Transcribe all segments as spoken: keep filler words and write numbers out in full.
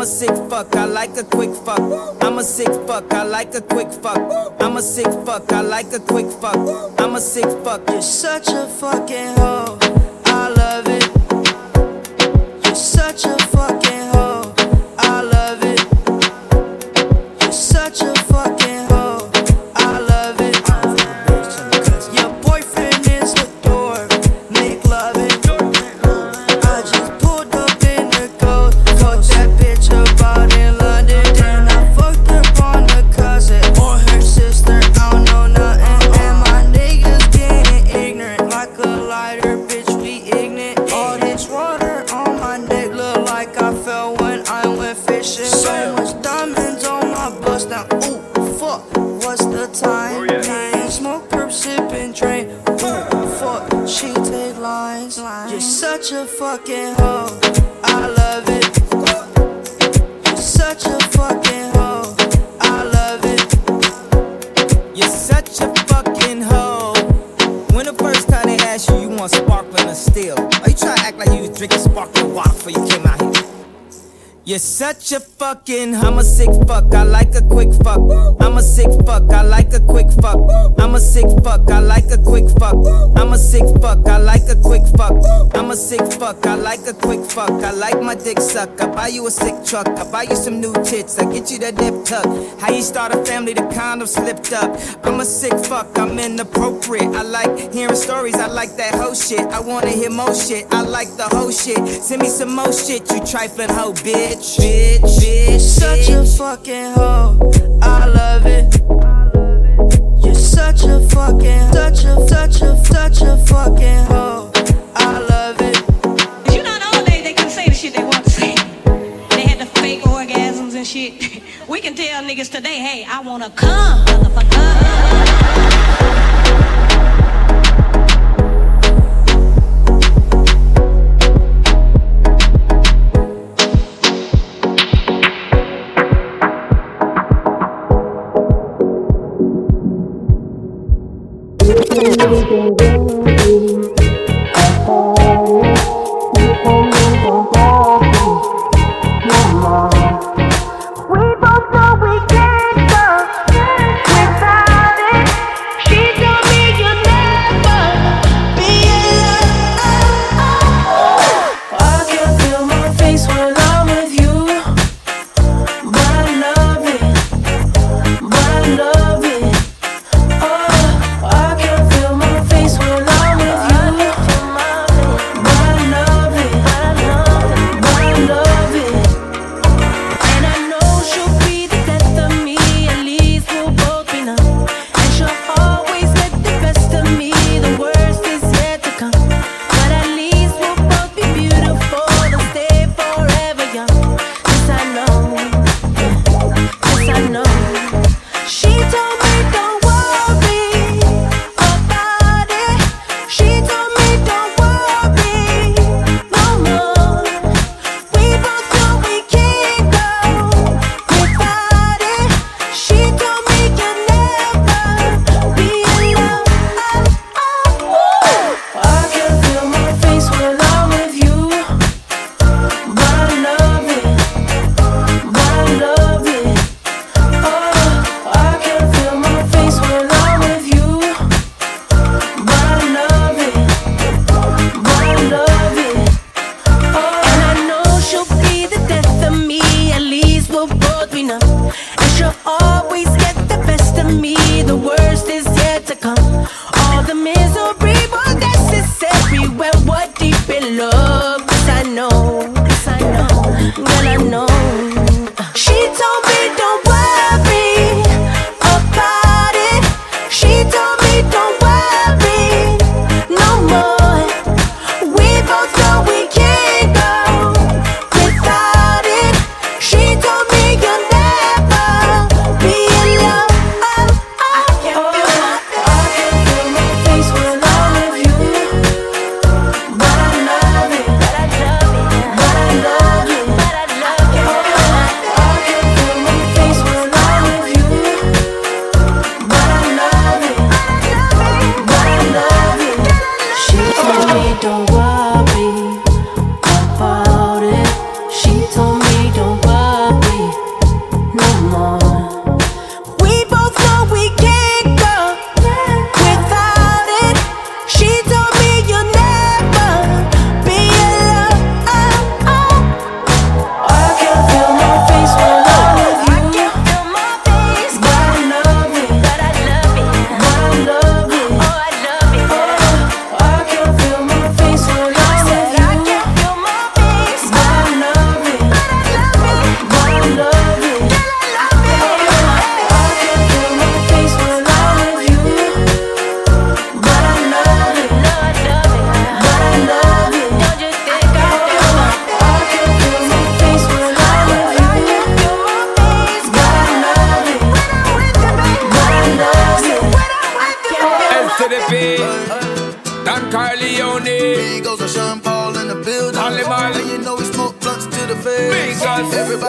a sick fuck, I like a quick fuck. I'm a sick fuck, I like a quick fuck. I'm a sick fuck, I like a quick fuck. I'm a sick fuck. You're such a fucking hoe, I love it. You're such a fucking hoe, I love it. You're such a fucking hoe, I love it. Your boyfriend is a dork, make love it. I just pulled up in the coat, fucked that bitch about in London. Then I fucked up on the cousin or her sister, I don't know nothing. And my niggas getting ignorant like a lighter, bitch, we ignorant. All this water on my neck look like I fell when I went fishing. So much diamonds on my bust now, ooh, fuck, what's the time? Me smoke, perp, sippin', drain, ooh, fuck, she take lines. You're such a fucking hoe, I love it. You're such a fucking hoe, I love it. You're such a fucking hoe. When the first time they asked you, you want sparkling or still? Are you trying to act like you was drinking sparkling water before you came out here? You're such a fucking, I'm a sick fuck, I like a quick fuck. I'm a sick fuck, I like a quick fuck. I'm a sick fuck, I like a quick fuck. I'm a sick fuck, I like a quick fuck. I'm a sick fuck, I like a quick fuck. I like my dick suck, I buy you a sick truck. I buy you some new tits, I get you that nip tuck. How you start a family, the condom slipped up. I'm a sick fuck, I'm inappropriate. I like hearing stories, I like that whole shit. I wanna hear more shit, I like the whole shit. Send me some more shit, you trifling hoe, bitch. Bitch, bitch, such a fucking hoe, I love it. You're such a fucking, such a, such a, such a fucking hoe, I love it. You know, the old days they couldn't say the shit they want to say. They had the fake orgasms and shit. We can tell niggas today, hey, I wanna come, motherfucker. We both know we can't go without it. She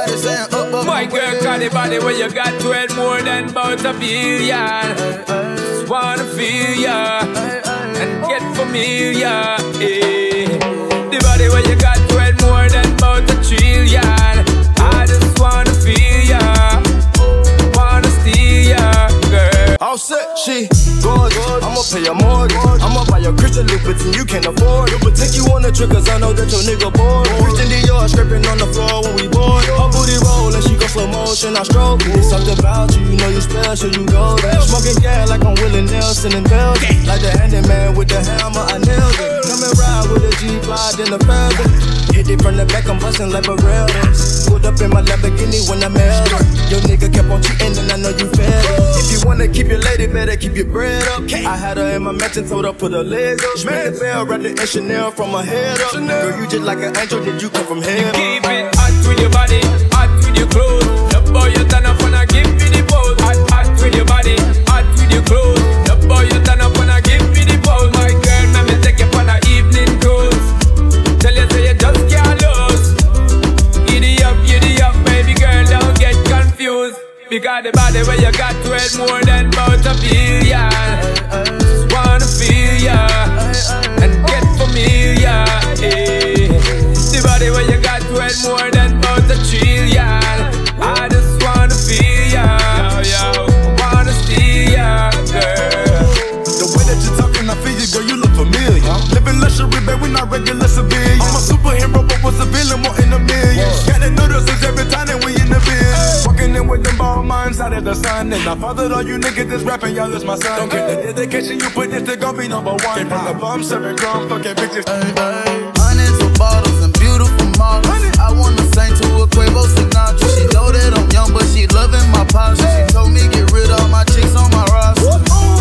Everybody saying up, up. My girl, got the body where you got to it more than about a billion. Just wanna feel ya and get familiar. Eh. The body where you got to it more than about a trillion. I just wanna feel ya, wanna steal ya, girl. All set, she gorgeous. I'ma pay your mortgage. I'ma buy your Christian Louboutin, you can't afford it. But take you on the trip, cause I know that your nigga bored. Christian Dior scraping on the floor when we bored. Her booty roll and she go slow motion, I stroke it. It's something about you, you know you special, you go there. Smoking gas like I'm Willie Nelson in Belgium. Like the handyman with the hammer, I nailed it. Come and ride with a G-Fly, then a feather. Hit it from the back, I'm bustin' like a railroad. Pulled up in my Lamborghini when I met her. Your nigga kept on cheating and I know you fed up. If you wanna keep your lady, better keep your bread up. I had her in my mansion, told her put her legs up. Spin the bell, wrapped it in Chanel from her head up. Girl, you just like an angel, did you come from heaven? Keep it hot with your body, hot with your clothes. The boy you turn up when I give me the pose. Hot, hot with your body, hot with your clothes. The boy you turn up when I give me the pose. My girl, let me take you for the evening cruise. Tell you say you just can't lose. Giddy up, giddy up, baby girl, don't get confused. Because the body where you got to it more than about a billion. Just wanna feel ya and get familiar. Eh. The body where you got to it more than about a trillion. I just wanna feel ya, yo, yo. I wanna steal ya, girl. The way that you're talking, I feel you, girl, you look familiar. Living luxury, babe, we not regular civilians. I'm a superhero, but was a villain, more in a million. Gotta notice us every time that we in the biz. Walking in with them ball minds out of the sun. And I fathered all you niggas that's rapping, y'all is my son. Don't get the dedication you put this to gon' be number one. Came from the bum, serving grown, fucking bitches. Hundreds of bottles and beautiful models. I wanna sing to a Quavo Sinatra. She know that I'm young, but she loving my posture. She told me get rid of all my chicks on my roster.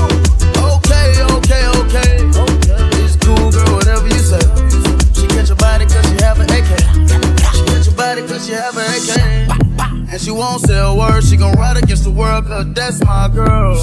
Okay, okay, okay. It's cool, girl, whatever you say. She catch your body cause she have an A K. She catch your body cause she have an A K. And she won't say a word, she gon' ride against the world, cause that's my girl.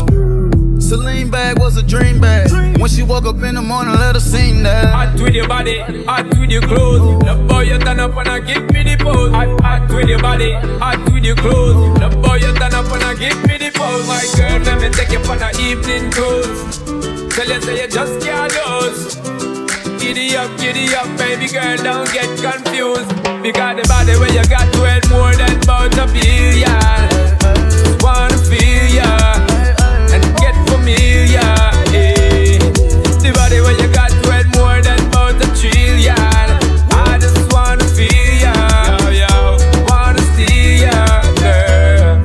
Celine bag was a dream bag. When she woke up in the morning, let her sing that. Hot with your body, hot with your clothes. The boy you turn up and I give me the pose. Hot, hot with your body, hot with your clothes. The boy you turn up and I give me the pose. My girl, let me take you for the evening cruise. Tell you say you just can't lose. Giddy up, giddy up, baby girl, don't get confused. Because the body where you got to it more than about a billion. Just wanna feel ya and get familiar. Eh. The body where you got to it more than about a trillion. I just wanna feel ya, yo, yo. Wanna steal ya, girl.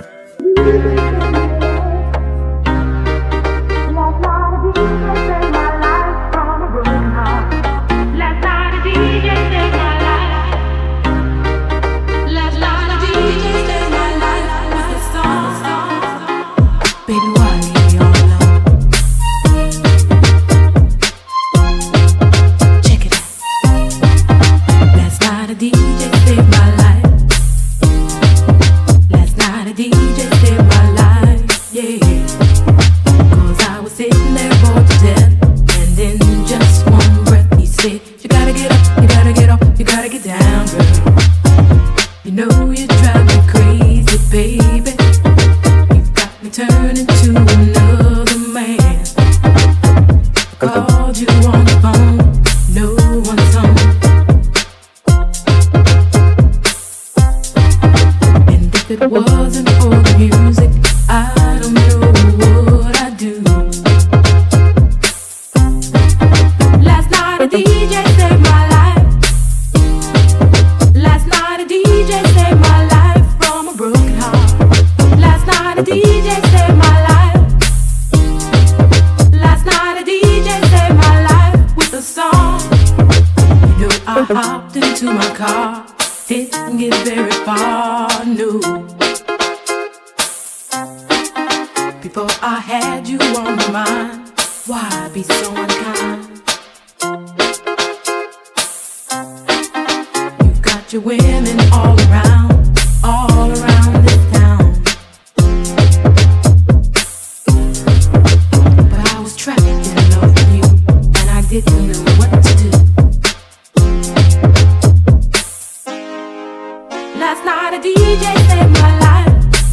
Last night a D J saved my life.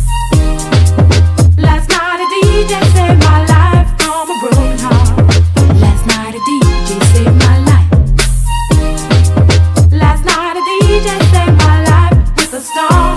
Last night a D J saved my life from a broken heart. Last night a D J saved my life. Last night a D J saved my life with a song.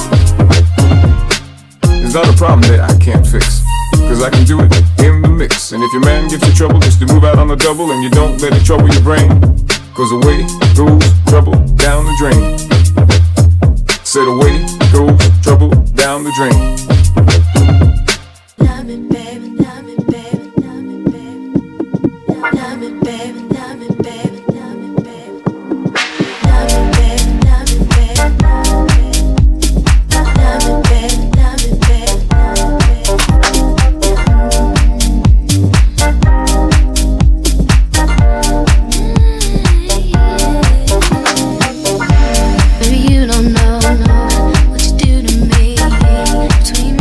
It's not a problem that I can't fix, cause I can do it in the mix. And if your man gives you trouble, just to move out on the double, and you don't let it trouble your brain, cause away goes trouble down the drain. Said away goes trouble down the drain. Love me, baby, love me, baby, love me, baby. Love me, baby, love me, baby, love me, baby. Love me, baby, love me, baby, love me, baby. Love me, baby, love me, baby, love me, baby. Baby, you don't know what you do to me. Between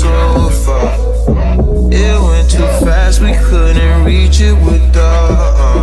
so far. It went too fast, we couldn't reach it with the uh,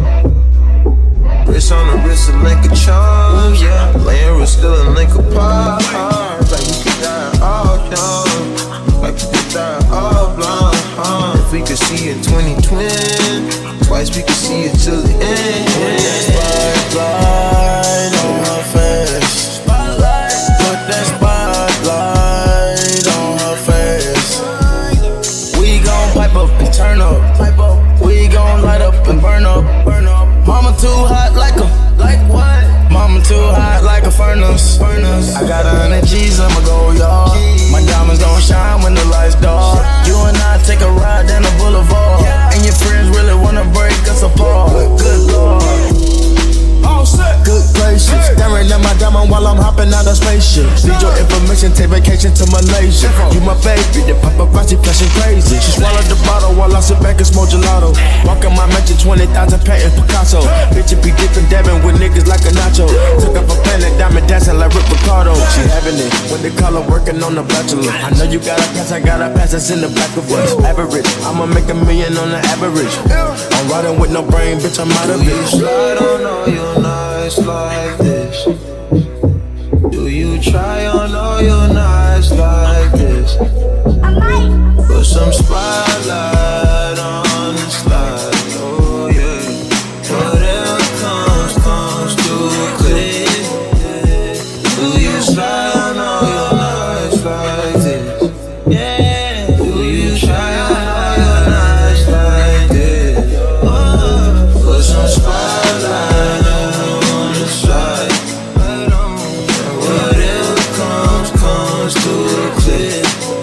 wrist on the wrist, a link of charms, yeah. Laying wrist, still a link apart. Like we could die all young, like we could die all blind. Uh. If we could see in twenty twenty, twice we could see it till the end. Spotlight on her face. Spotlight. Put that spotlight on her face. We gon' pipe up and turn up. Pipe up. We gon' light up and burn up. Burn up. Mama too hot like a, like what? Mama too hot like a furnace. Furnace. I got a hundred G's, I'ma go yard. My diamonds gon' shine when the lights dark. You and I take a ride down the boulevard, and your friends really wanna break us apart. Good Lord. All set. Good places. Staring at my diamond while I'm hopping out of spaceship. Need your information, take vacation to Malaysia. You my baby, the paparazzi flashing crazy. She swallowed the bottle while I sit back and smoke gelato. Walking my mansion, twenty thousand patent Picasso. Bitch, it be different dabbing with niggas like a nacho. Took up a planet, diamond dancing like Rick Ricardo. She having it when they call her working on the bachelor. I know you got a pass, I got a pass that's in the back of us. Average, I'ma make a million on the average. I'm riding with no brain, bitch, I'm out of it. Slide on all your nights like this. Do you try on all your nights like this? Put some spotlight on the slide, oh yeah. Whatever comes, comes too quick. Do you slide on all your nights like this? Yeah. Do you try on all your nights like this? Oh, put some spotlight on the slide. Whatever comes, comes too quick.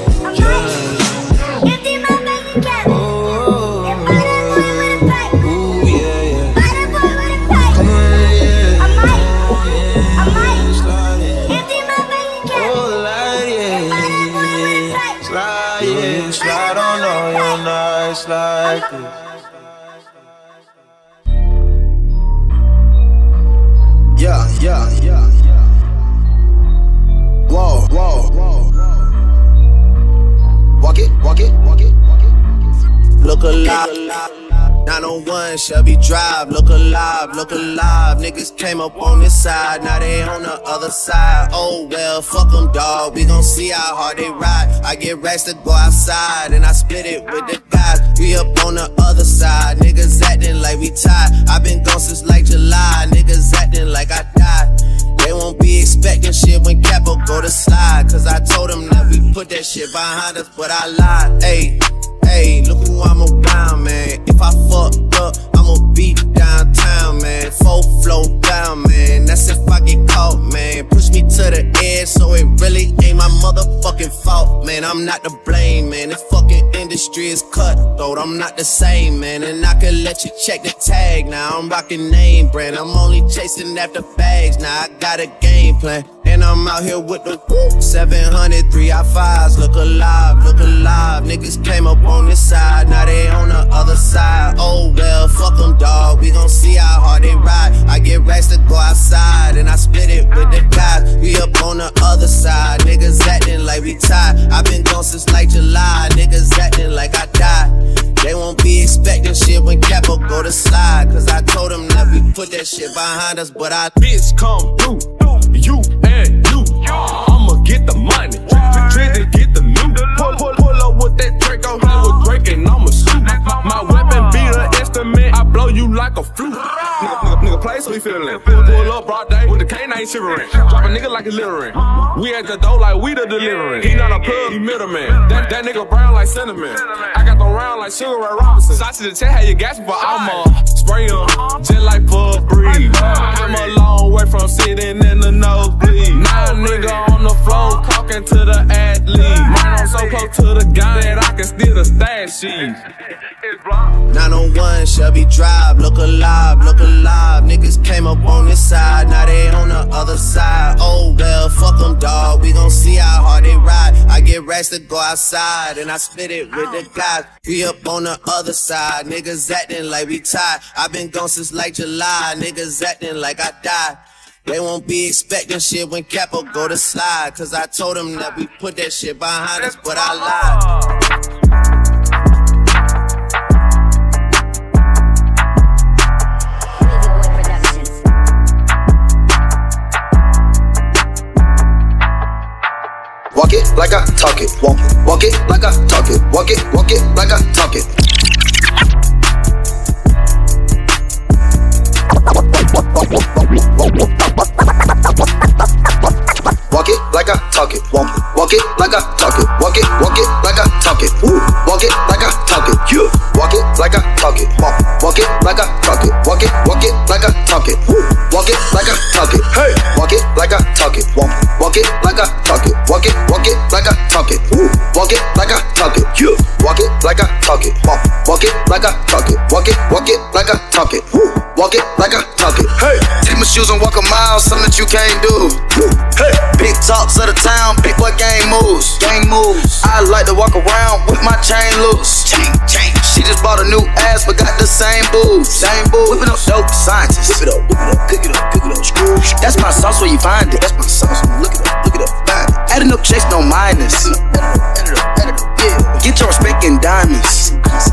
Like this. Yeah, yeah, yeah, yeah. Whoa, whoa, whoa, whoa. Walk it, walk it, walk it, walk it. Look alive. nine oh one Shelby Drive, look alive, look alive. Niggas came up on this side, now they on the other side. Oh well, fuck them, dawg, we gon' see how hard they ride. I get racks to go outside, and I split it with the guys. We up on the other side, niggas acting like we tied. I been gone since like July, niggas acting like I died. They won't be expecting shit when Capo go to slide, cause I told them that we put that shit behind us, but I lied. Ayy, ayy, look who I'm around, man. If I fucked up, I'ma be downtown, man. Full flow down, man. That's if I get caught, man. Push me to the edge, so it really ain't my motherfucking fault, man. I'm not to blame, man. This fucking industry is cutthroat. I'm not the same, man. And I can let you check the tag. Now I'm rocking name brand. I'm only chasing after bags. Now I got a game plan. And I'm out here with the whoop. seven hundred, three I fives. Look alive, look alive. Niggas came up on this side, now they on the other side. Oh well, fuck them, dawg. We gon' see how hard they ride. I get racks to go outside, and I split it with the guys. We up on the other side. Niggas acting like we tied. I been gone since like July. Niggas acting like I died. They won't be expecting shit when Capo go to slide, cause I told them that we put that shit behind us, but I bitch come through. You and you, I'ma get the money. Drink to get the loot. Pull, pull, pull up with that Drake on here with Drake and I'ma shoot. My, my weapon be the instrument, I blow you like a flute. Nigga, nigga, nigga play so he feelin'. Pull, pull up broad day with the K nine shivering. Drop a nigga like a littering. We at the door like we the delivering. He not a plug, he middleman. That, that nigga brown like cinnamon. I got the round like Sugar Ray Robinson. Shots to the chest, how you gasping, but I'ma spray em just like for a breeze. I'm a long way from sitting in the nosebleed. Now a nigga on the floor talking to the athlete. Mine, I'm so close to the gun that I can steal the stash sheet. nine oh one Shelby Drive, look alive, look alive. Niggas came up on this side, now they on the other side. Oh well, fuck them, dawg. We gon' see how hard they ride. I get racks to go outside, and I split it with the guys. We up on the other side, niggas acting like we tied. I been gone since like July, niggas acting like I died. They won't be expecting shit when Capo go to slide. Cause I told them that we put that shit behind us, but I lied. Walk it like I talk it. Walk it, walk it like I talk it. Walk it, walk it like I talk it. Walk it like I talk it. Walk it, walk it like I talk it. Walk it, walk it like I talk it. Ooh, walk it like I talk it. You walk it like I talk it. Walk, walk it like I talk it. Walk it, walk it like I talk it. Ooh, walk it like I talk it. Hey, walk it like I talk it. Walk, walk it like I talk it. Walk it, walk it like I talk it. Ooh, walk it like I talk it. You walk it like I talk it. Walk, walk it like I talk it. Walk it, walk it like I talk it. Ooh, walk it like I talk it. Hey, take my shoes and walk a mile, something that you can't do. Hey, big talks of the town, big boy gang moves. Gang moves. I like to walk around with my chain loose. Chain, chain. She just bought a new ass, but got the same boobs. Same boobs. Whip it up, dope scientist. Whip it up, whip it up, cook it up, cook it up. Screw. That's my sauce where you find it. That's my sauce. Look it up, look it up, find it. Adding up checks, no minus. Edit up, edit up, edit up, yeah. Get your respect in diamonds.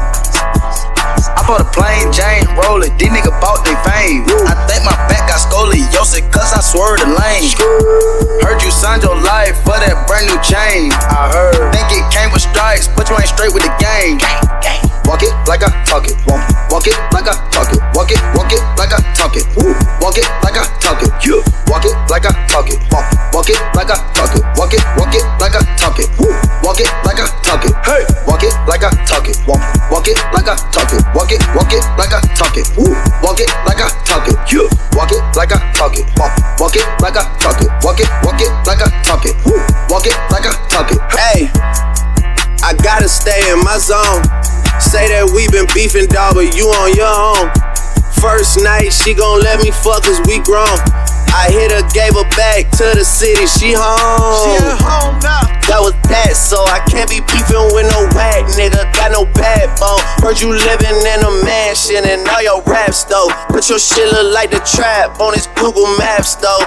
I bought a plain Jane, roll it, these niggas bought they fame. I think my back got scoliosis cause I swerved the lane. Heard you signed your life for that brand new chain. I heard, think it came with stripes, but you ain't straight with the game. Walk it like I talk it, walk, walk it like I talk it. Walk it, walk it like I talk it. Ooh, walk it like I talk it. You walk it like I talk it. Walk, walk it like I talk it. Walk it, walk it like I talk it. Ooh, walk it like I talk it. Hey, walk it like I talk it. Walk, walk it like I talk it. Walk it, walk it like I talk it. Ooh, walk it like I talk it. You walk it like I talk it. Walk, walk it like I talk it. Walk it, walk it like I talk it. Ooh, walk it like I talk it. Hey, I gotta stay in my zone. Say that we been beefing, dog, but you on your own. First night, she gon' let me fuck cause we grown. I hit her, gave her back to the city, she home. She at home now. That was that, so I can't be beefing with no whack nigga. Got no backbone. Heard you living in a mansion and all your raps though. But your shit look like the trap on his Google Maps though.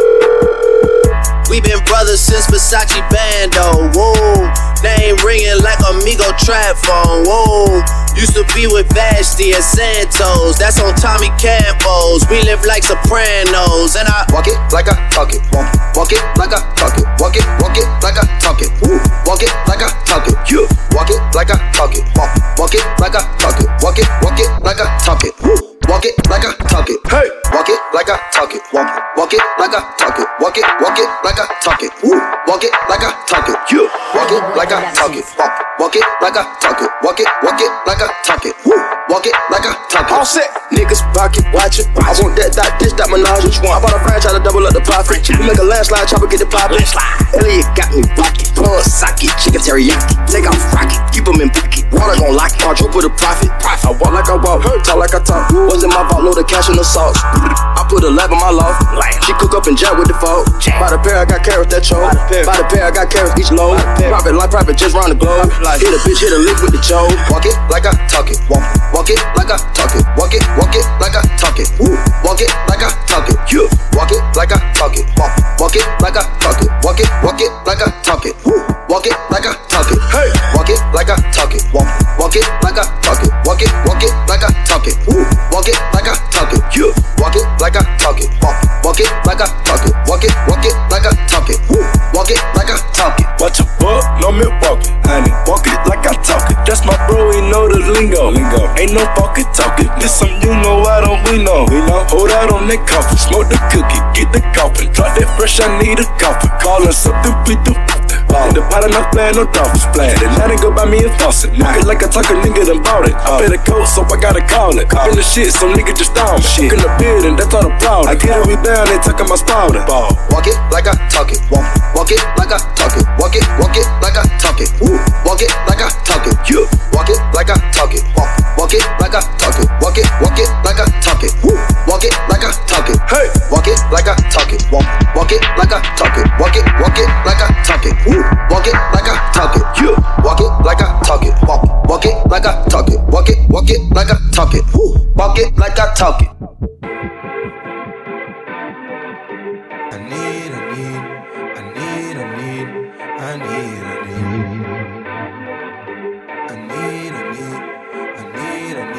We been brothers since Versace Bando, whoa. Name ringing like Amigo trap phone, whoa. Used to be with Vashti and Santos, that's on Tommy Campos. We live like Sopranos, and I walk it like I talk it, walk, walk it like I talk it, walk it, walk it like I talk it, ooh, walk it like I talk it, you walk it like I talk it, walk, walk it like I talk it, walk it, walk it like I talk it, ooh. Walk it like I talk it. Hey, walk it like I talk it. Walk, walk it like I talk it. Walk it, walk it like I talk it. Ooh, walk it like I talk it. You walk it like I talk it. Walk, walk it like I talk it. Walk it, walk it like I talk it. Ooh, walk it like I talk it. All set, niggas pocket, watch it. I want that, that, this, that menage. Which one? I bought a franchise to double up the profit. We make a landslide, chopper get the poppin'. Elliot got me rocket, plug socket, chicken teriyaki. Take off rocket, keep them in pocket. Water gon' lock it, March with a profit. I walk like I walk, talk like I talk. Was in my vault, load of cash in the sauce. I put a lab in my loft. She cook up and jab with the fault. By the pair, I got carrots that choke. By the pair, I got carrots each load. Private life, private just round the globe. Hit a bitch, hit a lick with the choke. Walk it like I talk it. Walk, walk it like I talk it. Walk it, walk it like I talk it. Ooh, walk it like I talk it. You walk it like I talk it. Walk, walk it like I talk it. Walk it, walk it like I talk it. Ooh, walk it like I talk it. Hey, walk it like I talk it. Walk, walk it like I talk it. Walk it, walk it like I talk it. Ooh, walk it like I talk it. You walk it like I talk it. Walk, walk it like I talk it. Walk it, walk it like I talk it. Ooh, walk it like I talk it. Watch a buck, no Milwaukee, honey. Walk it like I talk it. That's my bro, he know the lingo. Lingo. Ain't no fucking talking. This some you know, I don't we know. We know. Hold out on that coffin, smoke the cookie, get the coffin. Drop that fresh, I need a coffin. Callin' something, beat the in the pot, I'm not playing no dolphins playing. And now they go buy me a faucet. Walk it like I talk a nigga done bought it. I pay the coat, so I gotta call it. Call in the shit, so nigga just down me. Cook in the building, that's all the problem. I get it, we down, they talking my spouting. Walk it like I talk it. Walk, walk it like I talk it. Walk it, walk it like I talk it. Ooh, walk it like I talk it. You walk it like I talk it. Walk, walk it like I talk it. Walk it, walk it like I talk it. Ooh, walk it like I talk it. Hey, walk it like I talk it. Walk, walk it like I talk it. Walk it, walk it like I talk it. Ooh, walk it like I talk it. You walk it like I talk it. Walk, walk it like I talk it. Walk it, walk it like I talk it. Ooh, walk it like I talk it.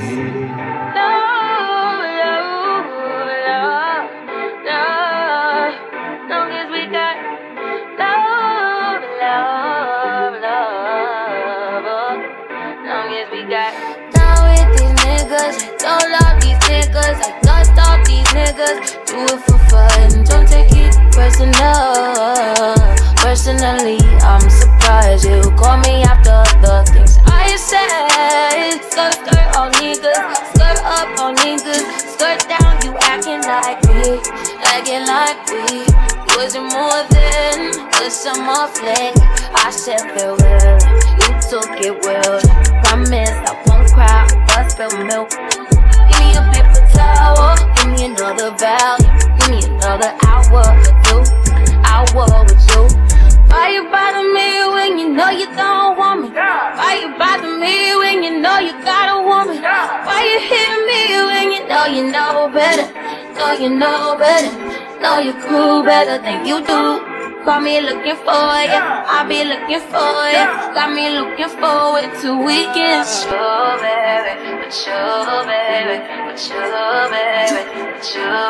Love, love, love, love. Long as we got love, love, love. Long as we got. Down with these niggas, don't love these niggas. I don't stop these niggas. Do it for fun, don't take it personal. Personally, I'm surprised you call me after the things I said. Skirt, skirt on niggas, skirt up on niggas, skirt down, you acting like me, acting like we wasn't more than a summer fling. I said farewell, you took it well. Promise I won't cry or spill milk. Give me a paper towel, give me another value, give me another hour or two, hour with you. Why you bother me when you know you don't want me? Why you bother me when you know you got a woman? Why you hit me when you know you know better? Know you know better, know your crew better than you do. Call me looking for ya, I'll be looking for ya. Got me looking forward to weekends. With you, baby, with you, baby, with you, baby, with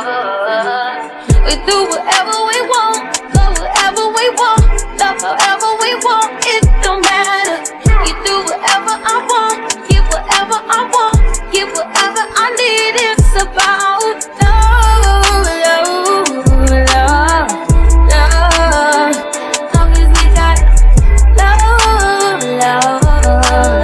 you. We do whatever we want, go wherever we want, love however we want. It don't matter. You do whatever I want, give whatever I want, give whatever I need. It's about love, love, love, love. Long as we got love, love,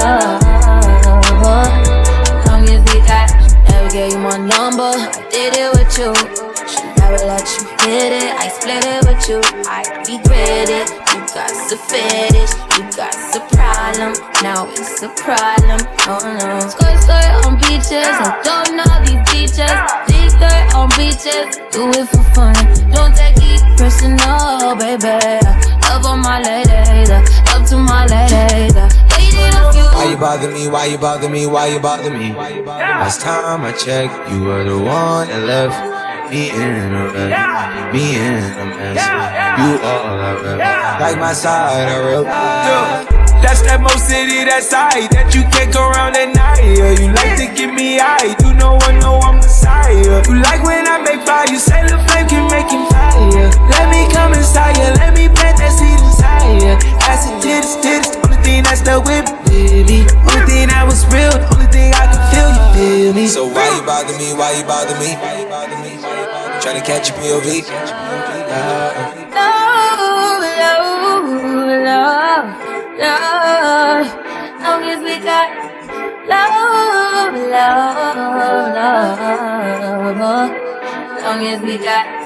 love. Long as we got. Never gave you my number, I did it with you. Should never let you hit it, I split it with you. I regret it, you got the fetish, you got the problem. Now it's a problem, oh no. Skirt, skirt on beaches, I don't know these beaches. Big skirt on beaches, do it for fun. Don't take it personal, baby. Love on my ladies, love to my ladies. Why you bother me, why you bother me, why you bother me? Last time I checked, you were the one that left me in a mess, me in a mess. You all I rep, like my side, I real. That's that Mo City, that side that you can't go around at night. You like to give me eye, you know I know I'm Messiah. You like when I make fire, you say the flame can make him fire. Let me come inside you, let me plant that seed inside you. Acid titties, titties, only thing that's stuck with me, baby. Only thing that was real, the only thing I can feel, you feel me. So why you bother me, why you bother me? Tryna catch a P O V. Love, love, love, love. Long as we got love, love, love. Long as we got.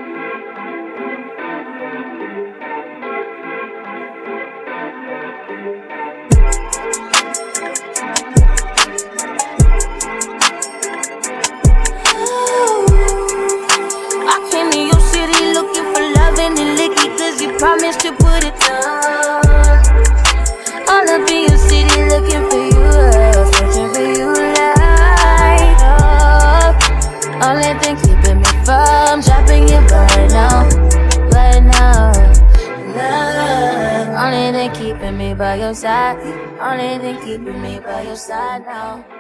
You promised to put it down. All up in your city looking for you, searching for you like love. Only thing keeping me from dropping you right now, right now. Love. Only thing keeping me by your side, only thing keeping me by your side now.